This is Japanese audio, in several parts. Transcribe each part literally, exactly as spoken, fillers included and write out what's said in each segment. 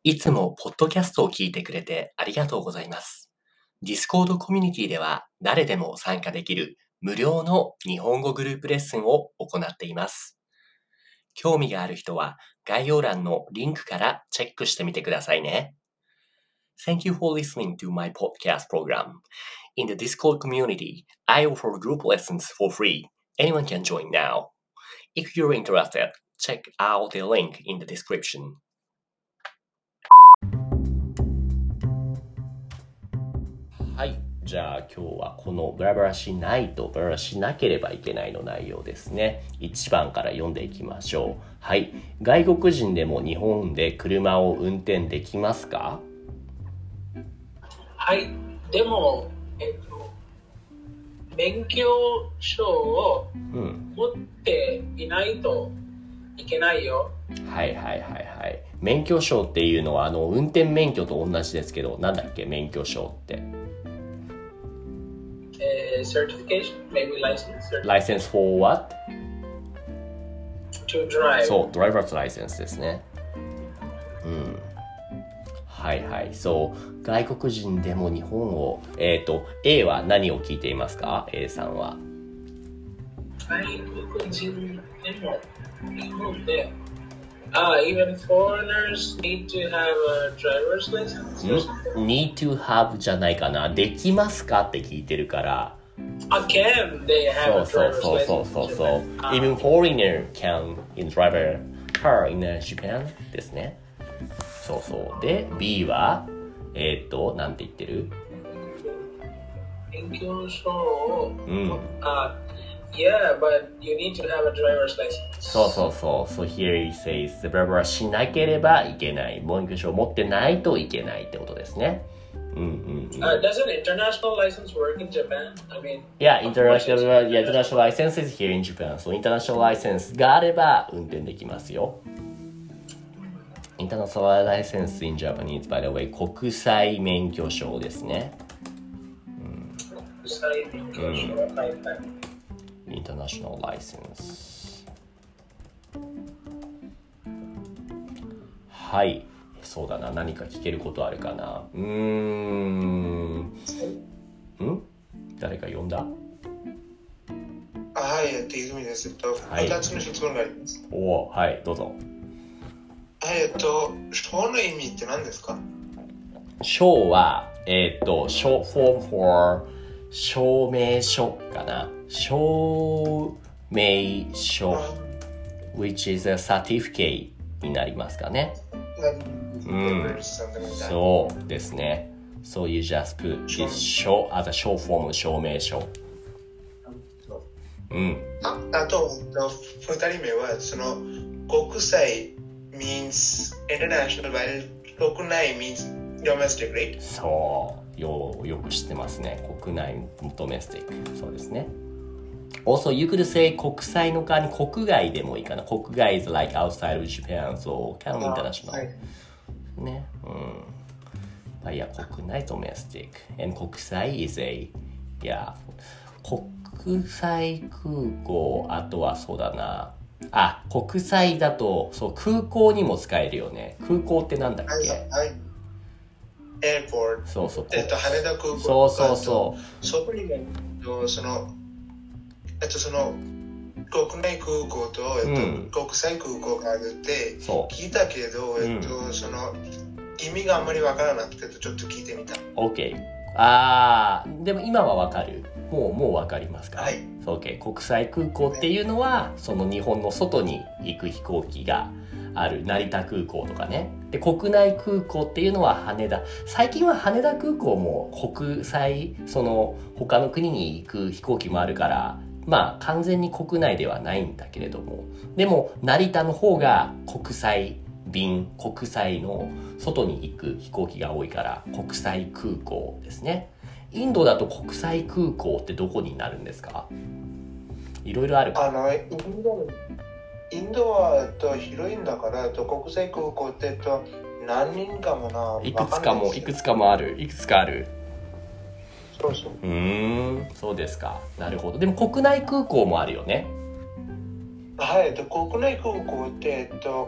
いつもポッドキャストを聞いてくれてありがとうございます。Discord コミュニティでは誰でも参加できる無料の日本語グループレッスンを行っています。興味がある人は概要欄のリンクからチェックしてみてくださいね。Thank you for listening to my podcast program. In the Discord community, I offer group lessons for free. Anyone can join now. If you're interested, check out the link in the description. はい。じゃあ今日はこのブラブラしないとブラブラしなければいけないの内容ですね。いちばんから読んでいきましょう。はい。外国人でも日本で車を運転できますか？ はい。でも、えっと、免許証を持っていないといけないよ。 うん、はいはいはいはい。免許証っていうのはあの運転免許と同じですけど、なんだっけ免許証って。 Uh, certification, maybe license. License for what? To drive. そう、driver's license ですね。うん。はいはい。そう、外国人でも日本を、えっと、A は何を聞いていますか？ A さんは。 外国人でも日本で、Ah, even foreigners need to have a driver's license? Need to have じゃないかな。できますかって聞いてるから。 Ah, can they have a driver's license? そうそうそうそうそう。Even foreigner can in driver car in Japan ですね。そうそう。で、B は、えー、っと、なんて言ってる？ 免許証を、 うん。 あ、Yeah, but you need to have a driver's license. そうそうそう。So here he says, ブラブラしなければいけない。免許証を持ってないといけないってことですね。うんうん、うん。 Uh, does an international license work in Japan? I mean, yeah, international, yeah, international license is here in Japan. So international license があれば運転できますよ。International license in Japanese, by the way, 国際免許証ですね。 うん、国際免許証、うん、はいはい。 International license はい、そうだな。何か聞けることあるかな。うーんん誰か呼んだ？ はい、えっと、泉です。えっと、ふたつの質問があります。 おー、はい、どうぞ。 はい、えっと、証の意味って何ですか？ 証は、えっと、short form for 証明書かな。証明書 which is a certificate になりますかね。うん、そうですね。So you just put this show as a short form 証明書。うん。 あ、あと、ふたりめは、その、国際 means international, while 国内 means domestic, right? そう。よ, よく知ってますね。国内 domestic。そうですね。Also, you could say 国際の代わりに国外でもいいかな。国外 is like outside of Japan, so kind of international、はい、ね。うん。まあ、いや、国内 domestic and 国際 is a yeah 国際空港、あとはそうだな。あ、国際だとそう空港にも使えるよね。空港ってなんだっけ？はいはい。 エアポート。 そうそう。 えっと羽田空港。 そうそうそう。 そこにもそのえっとその国内空港と、えっとうん、国際空港があるって聞いたけど、えっと、うん、その意味があんまりわからなくてちょっと聞いてみた。 OK。あー、でも今はわかる。もうもうわかりますか？はい。OK。国際空港っていうのは、その日本の外に行く飛行機がある成田空港とかね。で、国内空港っていうのは羽田。最近は羽田空港も国際、その他の国に行く飛行機もあるから、まあ完全に国内ではないんだけれども、でも成田の方が国際便、国際の外に行く飛行機が多いから国際空港ですね。インドだと国際空港ってどこになるんですか？いろいろあるか。 あのインド、インドはと広いんだからと国際空港ってと何人かもな。 いくつかもいくつかもある。いくつかある。 そうそう。 うーん、そうですか。なるほど。でも国内空港もあるよね。 はい、国内空港って、えっと、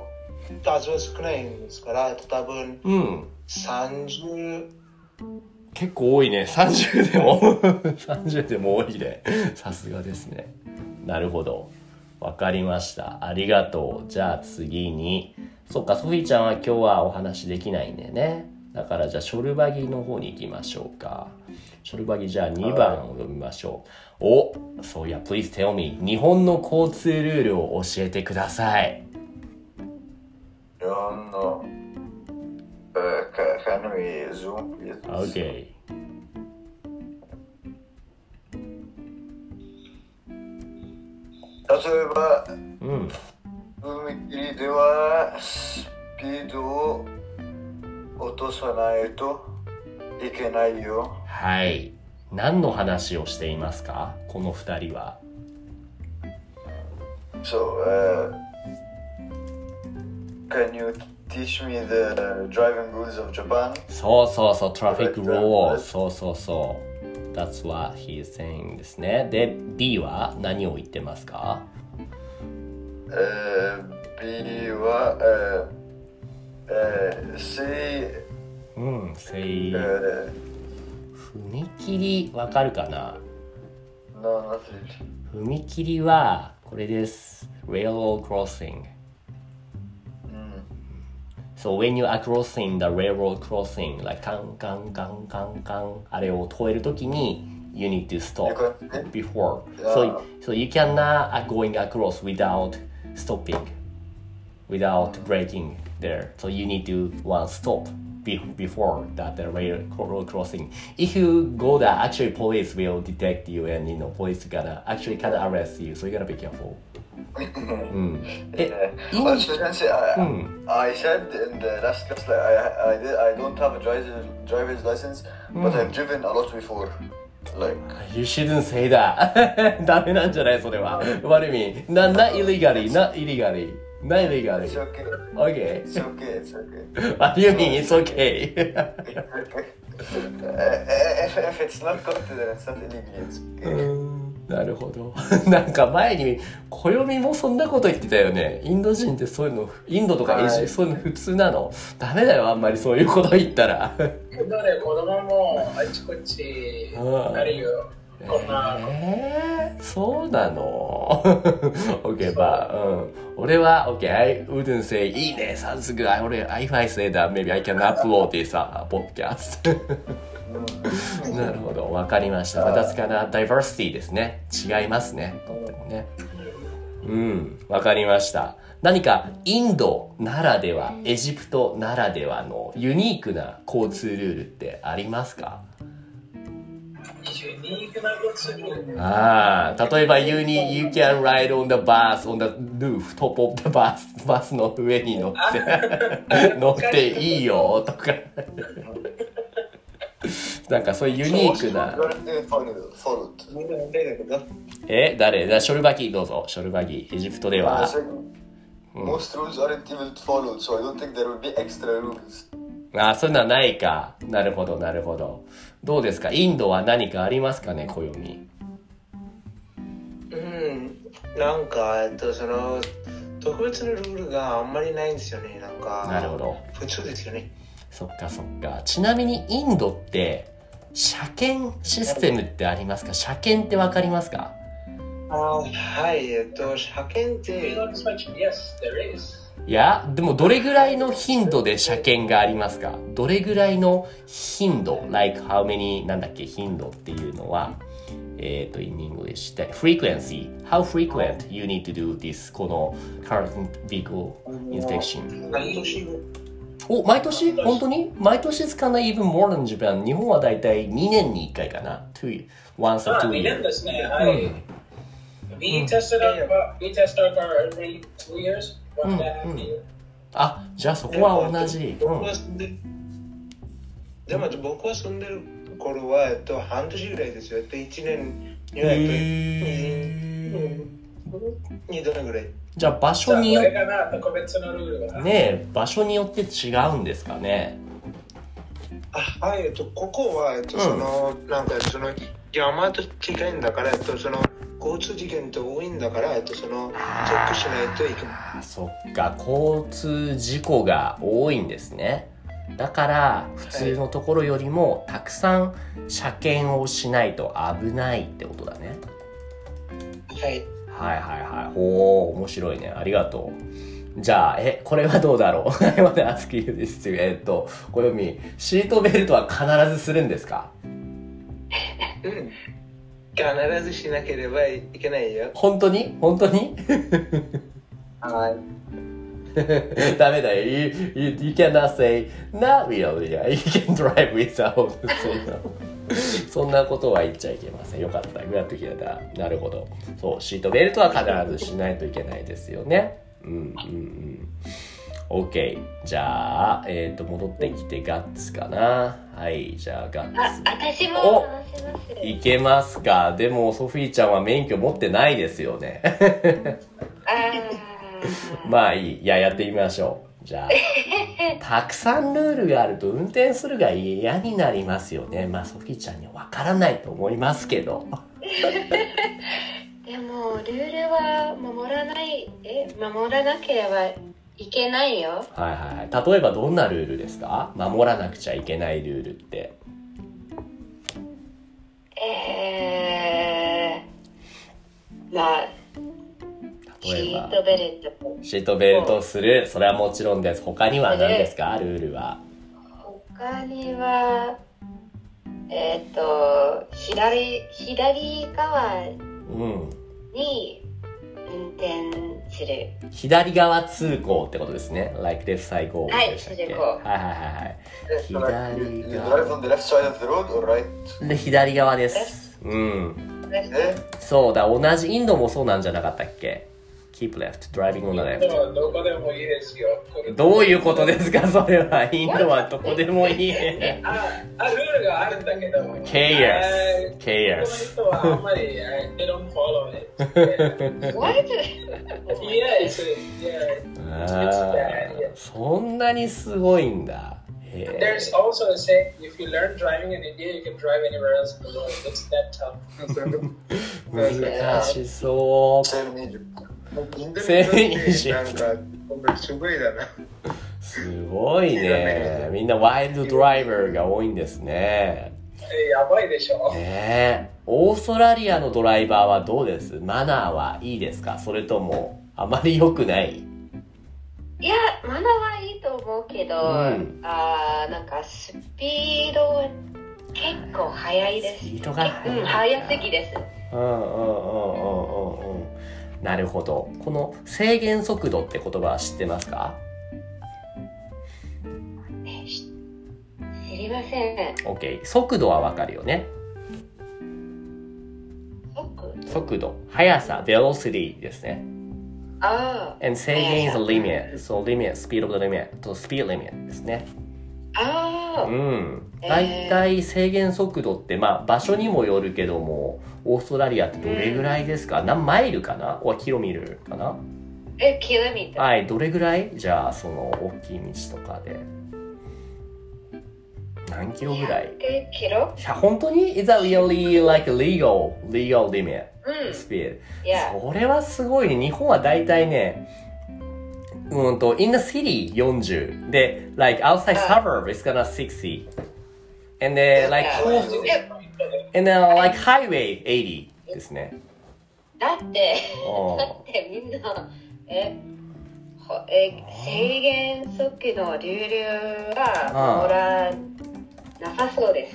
数は少ないんですから、多分、 うん。 さんじゅう、 結構多いね。さんじゅうでもさんじゅうでも多いね。さすがですね。なるほど。わかりました。ありがとう。じゃあ次に、そっか、ソフィーちゃんは今日はお話できないんだよね。だからじゃあショルバギの方に行きましょうか。ショルバギじゃあにばんを読みましょう。お、そういや、please tell me。日本の交通ルールを教えてください。 日本の、uh, can we zoom please? OK。 例えば、 うん。 踏切ではスピードを落とさないといけないよ。 はい。何の話をしていますか、この二人は。 So, uh, can you teach me the driving rules of Japan? そうそうそう、トラフィックルール。そうそうそう。That's what he is saying ですね。で、B は何を言ってますか？ uh, B は、uh, uh, say うん、say、 uh, 踏切わかるかな？ No, not really. 踏切はこれです。Railroad crossing。So when you are crossing the railroad crossing, like カンカンカンカンカン、あれを越えるときに you need to stop before. So, so you cannot going across without stopping, without braking there. So you need to one stop before that the railroad crossing. If you go there, actually police will detect you and you know police gonna actually can arrest you. So you gotta be careful. うん、 え、私先生、I, うん、I said in the last class like I, I, did, I don't have a driver's, driver's license, but I've driven a lot before. Like, you shouldn't say that. ダメなんじゃないそれは。What do you mean? Not, not illegally, not illegally. Not illegally. It's okay. Okay. It's okay, it's okay. What do you mean it's okay? if, if it's not caught, then it's not illegal. It's okay. なるほど。なんか前に暦もそんなこと言ってたよね。インド人ってそういうの、インドとかエジプト、そういうの普通なの。ダメだよ、あんまりそういうこと言ったら。 だね、子供もあちこちあるよ。こんな。 えー、そうなの？OK、まあ、うん。俺は、OK、I wouldn't say, いいね、さすが。俺、if I say that, maybe I can upload this podcast. なるほど、わかりました。私からダイバーシティですね。違いますね。とってもね。うん、わかりました。何かインドならでは、エジプトならではのユニークな交通ルールってありますか？ ユニークな交通ルール。 ああ、例えば you need, you can ride on the bus on the roof, top of the bus, バスの上に乗って乗っていいよとか。なんかそういうユニークな。え、誰？だショルバギどうぞ。ショルバギ。エジプトでは。 Most rules aren't even followed, so I don't think there will be extra rules. ああ、そういうのはないか。なるほど、なるほど。どうですか？インドは何かありますかね、暦。 うん、なんか、えっと、その、特別なルールがあんまりないんですよね。なんか、 なるほど。 普通ですよね。 そっかそっか。ちなみにインドって車検システムってありますか？車検ってわかりますか？ あ、はい、えっと、車検って、 いや、でもどれぐらいの頻度で車検がありますか？どれぐらいの頻度 like how many なんだっけ頻度っていうのはえっと in English で frequency how frequent you need to do this この current vehicle inspection お、毎年本当に毎年つかない even more than Japan 日本はだいたいにねんにいっかいかな two once or two years にねんですねはい、うん、We tested our we test our car every two years one and a half year あ、じゃあそこは同じ、うん、 でも僕は住んでる頃は、えっと、半年ぐらいですよ。いちねんには、えっと、にどれぐらい。 じゃあ場所によって、 ねえ、場所によって違うんですかね。 あ、はい、えっと、ここは、えっと、その、うん、なんかその山と近いんだから、えっと、その交通事件って多いんだから、えっと、そのチェックしないといけない。 そっか、交通事故が多いんですね。だから普通のところよりもたくさん車検をしないと危ないってことだね。 はい。 はいはいはい。おー、面白いね。ありがとう。じゃあ、え、これはどうだろうI want to ask you this too. えっと、小読み、シートベルトは必ずするんですか？ うん。必ずしなければいけないよ。 本当に？本当に？ はい。 ダメだよ。You, you, you cannot say, not really. You can drive without. そんなことは言っちゃいけません。よかった。グラッと聞いた。なるほど。そう、シートベルトは必ずしないといけないですよね。うんうんうん。OK。じゃあ、えっと、戻ってきてガッツかな。はい、じゃあガッツ。 あ、私も話します。 いけますか？でも、ソフィーちゃんは免許持ってないですよね。まあいい。いや、やってみましょう。じゃあ。たくさんルールがあると運転するが嫌になりますよね。まあ、ソフィーちゃんにはわからないと思いますけど。 でも、ルールは守らない、え、守らなければいけないよ。 はいはいはい。例えばどんなルールですか？守らなくちゃいけないルールって。 えー、まあ、シートベルト。 シートベルトする。それはもちろんです。他には何ですか？ルールは。 他には、えっと、左、左側に運転する。 うん、左側通行ってことですね。like left side go でしたっけ？はい、はいはいはい。左側。で、左側です。うん。そうだ、同じインドもそうなんじゃなかったっけ？ Keep left, driving on the left。 どこでもいいですよ。 どういうことですかそれは。インドはどこでもいい。 あ、あ、ルールがあるんだけど。 Chaos. Chaos. この人はあんまり、they don't follow it. What? Yes, yeah. It's bad. そんなにすごいんだ。 There's also a saying, if you learn driving in India, you can drive anywhere else in the world. It's that tough. 難しそう。 インドネシアってなんかすごいだな。 すごいね。みんなワイルドドライバーが多いんですね。 やばいでしょ。 ねえ。オーストラリアのドライバーはどうです？マナーはいいですか？それともあまり良くない？ いや、マナーはいいと思うけど、うん、あー、なんかスピードは結構速いです。スピードが速い。うん、速すぎです。 うんうんうんうんうんうん。なるほど。この制限速度って言葉は知ってますか？ え、知りません。 OK。速度はわかるよね。 速速度。速さ。velocity ですね。 ああ。 and 制限 is a limit. So limit, speed of the limit. と speed limit ですね。 ああ。 うん。だいたい制限速度って、まあ場所にもよるけども、オーストラリアってどれぐらいですか？うん、何マイルかな？おキロミルかな？ え、キロミター。 はい、どれぐらい？じゃあその大きい道とかで。何キロぐらい？ ひゃくキロ？ いや、本当に？ Is that really like a legal, legal limit? うん。 speed? Yeah. それはすごいね。日本はだいたいね、うんと、in the city よんじゅう。で、like outside suburb it's gonna sixty. And then like, and then like highway eighty ですね。 だって、だってみんな、え、え制限速度のルールは守らなさそうです。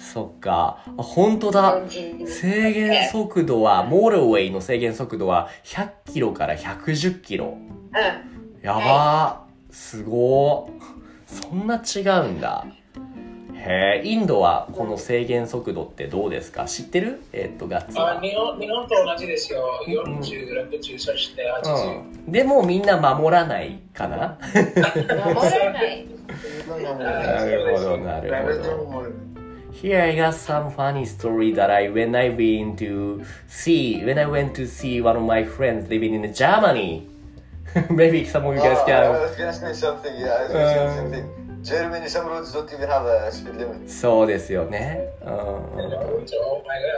そっか。あ、本当だ。制限速度は、モーターウェイの制限速度はひゃくキロからひゃくじゅっキロ。 うん。 やばー。はい、すごー。そんな違うんだ。へー。インドはこの制限速度ってどうですか？知ってる？えー、っと、ガッツは。 あ、日本、日本と同じですよ。よんじゅう、ろくじゅう、そしてはちじゅう。 うん。でもみんな守らないかな？ 守らない。 なるほど、なるほど。Here I got some funny story that I when I went to see when I went to see one of my friends living in Germany. Maybe some of you guys can. I was gonna say something. Yeah, I was gonna say something. Germany, some roads don't even have a speed limit. そうですよね。うん。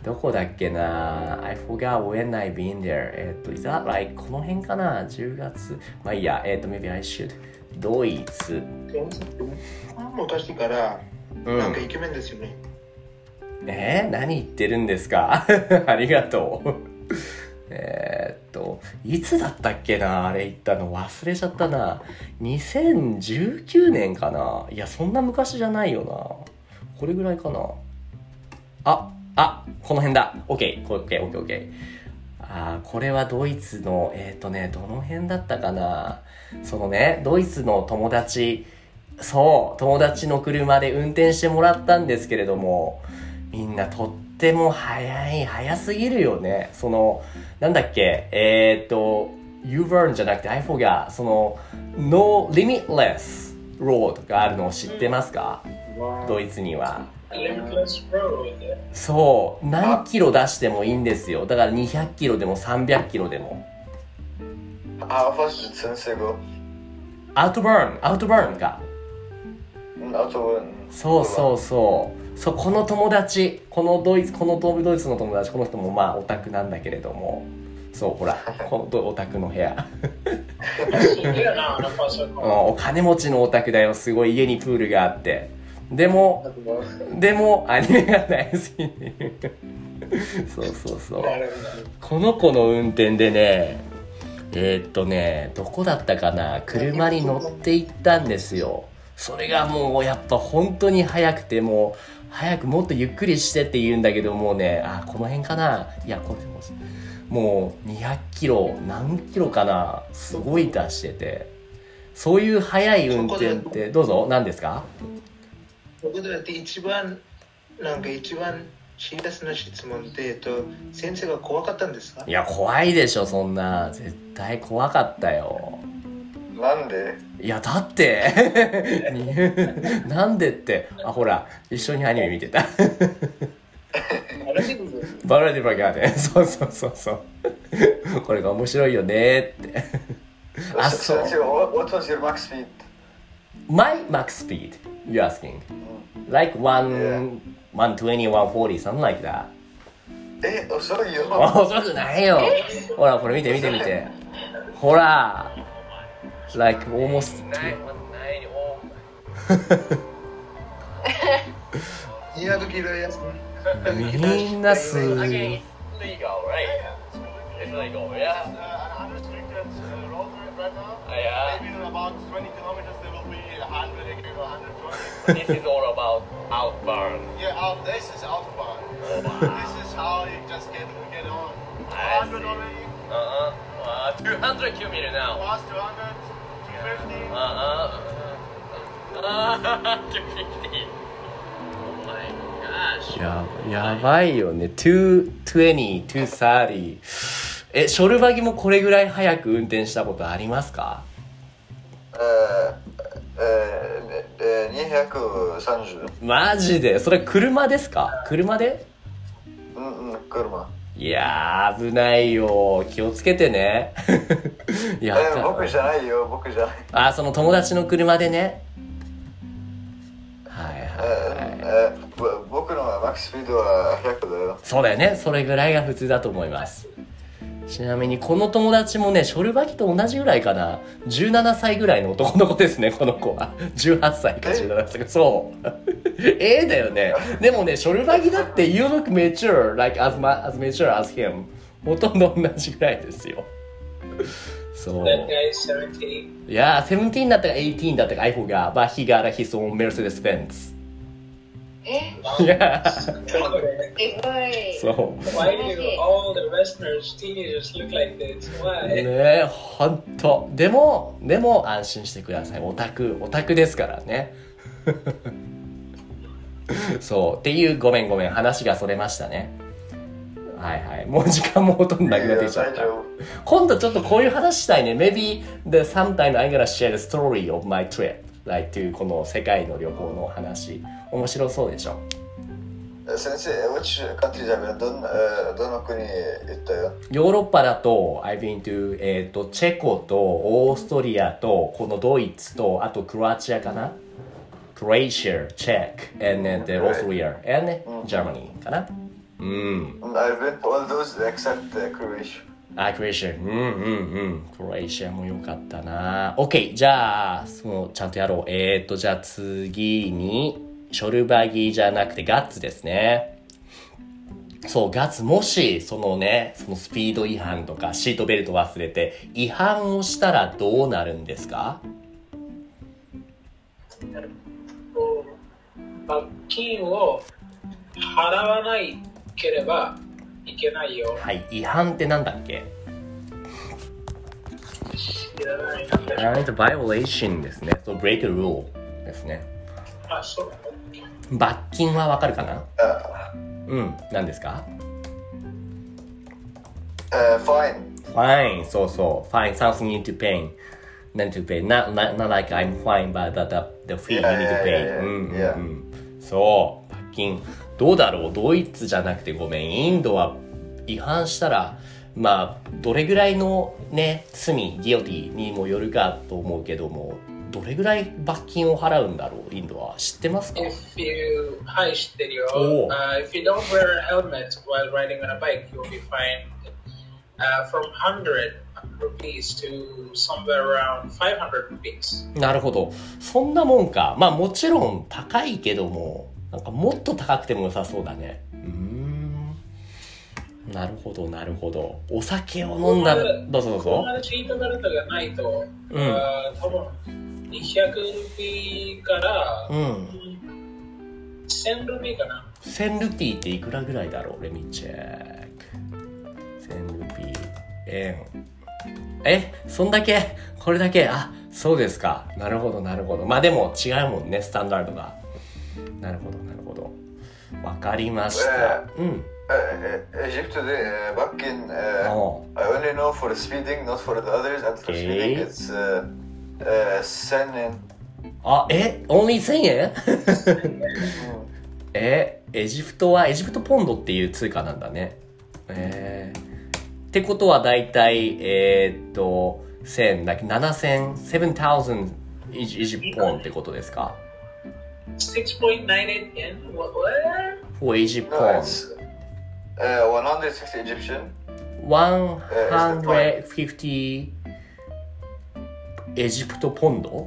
どこだっけな I forgot when I been there えっと is that like この辺かなじゅうがつまあいいやえっと maybe I should ドイツ昔からなんかイケメンですよね、 うん、えー、何言ってるんですかありがとうえーっといつだったっけなあれ言ったの忘れちゃったなにせんじゅうきゅうねんかないやそんな昔じゃないよなこれぐらいかなああこの辺だ OK OK OK OK あこれはドイツのえーっとねどの辺だったかなそのねドイツの友達そう友達の車で運転してもらったんですけれどもみんなとっても早い早すぎるよねそのなんだっけえー、っと U-Turn じゃなくて I forgot その No Limitless Road があるのを知ってますか、wow. ドイツにはそう何キロ出してもいいんですよだからにひゃくキロでもさんびゃくキロでもあ、ファスト先生がアウトバーンアウトバーンかアウトバーンそうそうそうそうこの友達このドイツこのドイツの友達この人もまあオタクなんだけれどもそうほらこのオタクの部屋お金持ちのオタクだよすごい家にプールがあってでもでもアニメが大好きそうそうそうこの子の運転でねえー、っとねどこだったかな車に乗って行ったんですよそれがもうやっぱ本当に速くてもう早くもっとゆっくりしてって言うんだけどもうねあこの辺かないやこれもうにひゃくキロ何キロかなすごい出しててそういう速い運転ってどうぞ何ですかそこで一番なんか一番シリアスな質問で、えっと、先生が怖かったんですか？ いや怖いでしょそんな絶対怖かったよなんで？ いやだってなんでってあほら一緒にアニメ見てたバラディバガーデンそうそうそうそうこれが面白いよねってあそう What was your max speed? My max speed you're asking like one one twenty one forty something like that え遅いよ遅くないよほらこれ見て見て見てほらlike almost にひゃくキロやつみんなすごいThis is all about outbound. Yeah, out, this is outbound. This is how you just get get on. two hundred already? Uh-uh. Uh, two hundred kilometers now. Past two hundred, two fifty? Uh-uh. Uh, two fifty. Oh my gosh. や, やばいよね。two twenty, two thirty. え、ショルバギもこれぐらい早く運転したことありますか？ えー、えー、えー、にひゃくさんじゅう。 マジで？それ車ですか？車で？ うんうん、車。 いやー危ないよ気をつけてねいや、えー、僕じゃないよ僕じゃない。 あ、その友達の車でね。はいはい、はいえーえー、僕のマックススピードはひゃくだよ。 そうだよね、それぐらいが普通だと思います。ちなみにこの友達もねショルバギと同じぐらいかな、じゅうななさいぐらいの男の子ですね。この子はじゅうはっさいかじゅうななさいか、そうええだよね。でもねショルバギだって You look mature like as, ma- as mature as him ほとんど同じぐらいですよ。そう。 That guy is seventeen. いやーセブンティーンだったかエイティーンだったか I forgot but he got his own Mercedes Benz。 えいやすごい。 そう。 Why do all the Westerners, teenagers look like this? Why? ねえ、ほんと。でも、でも安心してください。オタク、オタクですからね。そう。っていう、ごめんごめん。話がそれましたね。はいはい。もう時間もほとんどなくなってきちゃった。今度ちょっとこういう話したいね。Maybe the sometime I'm gonna share the story of my trip.Like to この世界の旅行の話面白そうでしょ。 先生、which country じゃどんなどの国行ったよ？ ヨーロッパだと I've been to えっとチェコとオーストリアとこのドイツとあとクロアチアかな。クロアチア、チェック、and then the Austria and Germany かな。ううん。 I've been to all those except Croatia. あ、クロエシア。うんうんうん。クロエシアも良かったな。OK。じゃあ、そのちゃんとやろう。えーと、じゃあ次に、ショルバギじゃなくてガッツですね。そう、ガッツ、もし、そのね、そのスピード違反とかシートベルト忘れて、違反をしたらどうなるんですか？ 罰金を払わないければいけないよ。 はい、違反ってなんだっけ？ 知らない。 violation ですね。そう、break a rule ですね。 あ、そうだ。 罰金はわかるかな？うん、何ですか？ Uh, fine. Fine、そうそう。Fine, something you need to pay. Not to pay. Not, not, not like I'm fine, but the, the, the fee you need to pay. うんうんうん。そう、罰金。どうだろう？ドイツじゃなくてごめん。インドは違反したら、まあ、どれぐらいのね、罪、ギオティにもよるかと思うけども、どれぐらい罰金を払うんだろう？インドは知ってますか？ If you はい、知ってるよ。Uh, if you don't wear a helmet while riding on a bike, you will be fined uh, from one hundred rupees to somewhere around five hundred rupees. なるほど。そんなもんか。まあもちろん高いけども、なんかもっと高くても良さそうだね。うーん。なるほど、なるほど。お酒を飲んだら、どうぞどうぞ。 ここまでシートベルトがないと、うん、uh, 多分にひゃくルピーから、うん、せんルピーかな。 せんルピーっていくらぐらいだろう？レミチェック。せんルピー、円。え、そんだけ？これだけ？あ、そうですか。なるほど、なるほど。まあでも違うもんね、スタンダードが。なるほど、なるほど。わかりました。うん。 Egypt today, back in, uh, oh. I only know for speeding, not for the others, and for okay. speeding it's uh, uh, せんえん。 あ、え、only せんえんえ、エジプトは、エジプトポンドっていう通貨なんだね。えー、ってことはだいたい、えー、っと、せん、like ななせん、セブンタウザンド エジプトポンってことですか？ six point nine eight yen? What? What? For Egypt no, pound. Uh, one hundred sixty Egyptian. one hundred fifty エジプトポンド？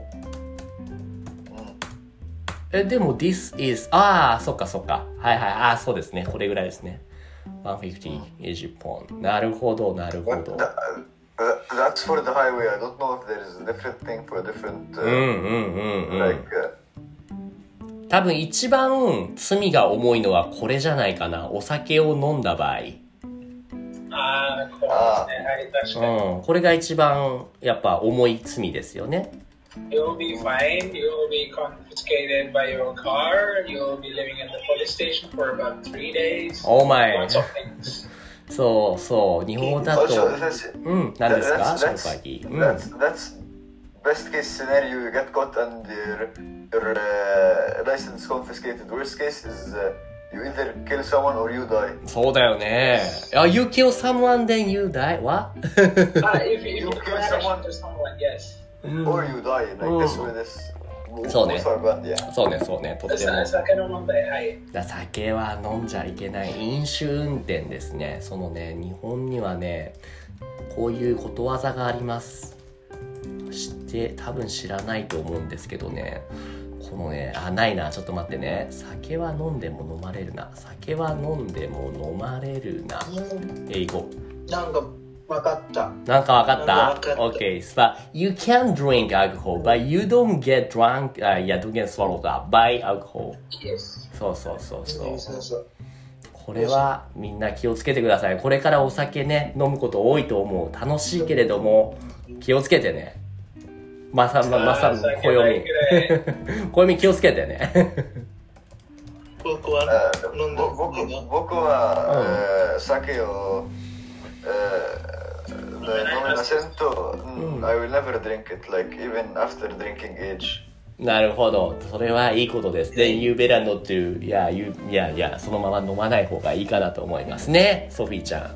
え、でも this is ああ、そっかそっか。はいはい。ああ、そうですね。これぐらいですね。one hundred fifty エジプトポンド。なるほど、なるほど。 That, uh, that's for the highway. I don't know if there is a different thing for different. Uh, うんうんうんうん。 like, uh, 多分一番罪が重いのはこれじゃないかな。お酒を飲んだ場合。 ああ、これね。はい、確かに。 うん、これが一番やっぱ重い罪ですよね。 You'll be fined, you'll be confiscated by your car, you'll be living in the police station for about three days. Oh my. Lots of things. そうそう、日本だと。うん、何ですか？ショーパギー。 That's, that's best case scenario, you get caught and your, your uh, license confiscated. Worst case is uh, you either kill someone or you die. そうだよね。あ、you kill someone then you die? What? ah, if you, you kill someone to someone, yes. Or you die, like this way, this. そうね。そうね、そうね。とっても。 酒の問題、はい。 酒は飲んじゃいけない。飲酒運転ですね。そのね、日本にはね、こういうことわざがあります。知って多分知らないと思うんですけどね、このね、あ、ないな、ちょっと待ってね。酒は飲んでも飲まれるな。酒は飲んでも飲まれるな。英語。 なんかわかった。 なんかわかった？ Okay, so you can drink alcohol, but you don't get drunk, uh, yeah, don't get swallowed up by alcohol. Yes. そうそうそうそう。これはみんな気をつけてください。これからお酒ね、飲むこと多いと思う。楽しいけれども、気をつけてね。まさま、まさに、暦。暦気をつけてね。 僕は飲んで僕僕は、うん、酒を、飲めませんと、うん、I will never drink it, like even after drinking age. なるほど。それはいいことです。Then you better not to, yeah, you, yeah, yeah, そのまま飲まない方がいいかなと思いますね。ソフィーちゃん。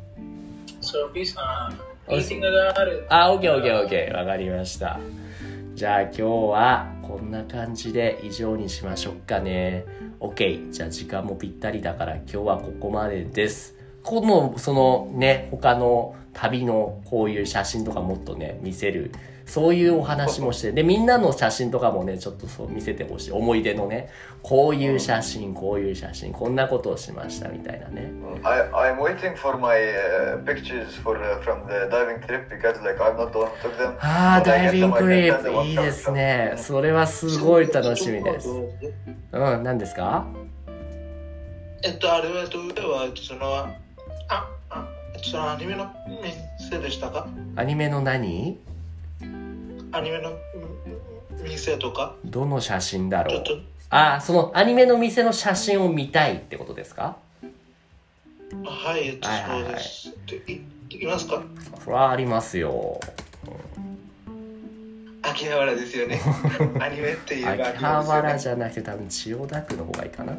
ソフィーさん。ミーティングがある。 あ、オッケーオッケーオッケー。わかりました。 じゃあ今日はこんな感じで以上にしましょうかね。 OK。 じゃあ時間もぴったりだから今日はここまでです。このそのね他の旅のこういう写真とかもっとね見せる、そういうお話もして、でみんなの写真とかもねちょっとそう見せてほしい。思い出のね、こういう写真こういう写真こんなことをしましたみたいなね。 I I'm waiting for my、uh, pictures for、uh, from the diving trip because like I'm not the one who took them. ああ、ダイビングトリップいいですね。それはすごい楽しみです。うん、何ですか？ えっとあれはどうはそのああそのアニメの店でしたか？ アニメの何？ アニメの店とか？ どの写真だろう？あ、そのアニメの店の写真を見たいってことですか？ はい、えっと、そうです。い、いきますか？ それはありますよ。 秋葉原ですよね。アニメっていう秋葉原じゃなくて多分千代田区の方がいいかな。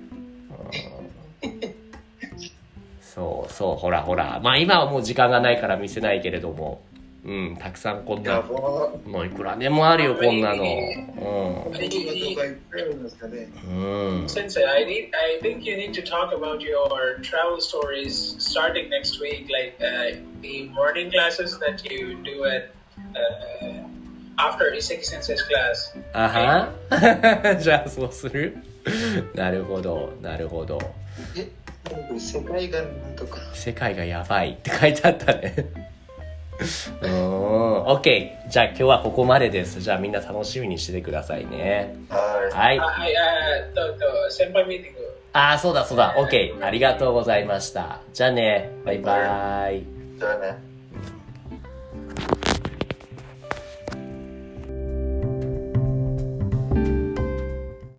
そうそう、ほらほら、まあ今はもう時間がないから見せないけれども、うん、たくさんこんなもういくらでもあるよこんなの。うん。 Sensei, I need, I think you need to talk about your travel stories starting next week, like uh, the morning classes that you do at uh, after Iseki Sensei's class. あは。じゃあそうする。なるほど、なるほど。 世界がなんとか世界がやばいって書いてあったね。うん、OK。じゃあ今日はここまでです。じゃあみんな楽しみにしててくださいね。はい。 はい、先輩ミーティング。 ああ、そうだそうだ。OK。ありがとうございました。じゃあね。バイバイ。 じゃあね。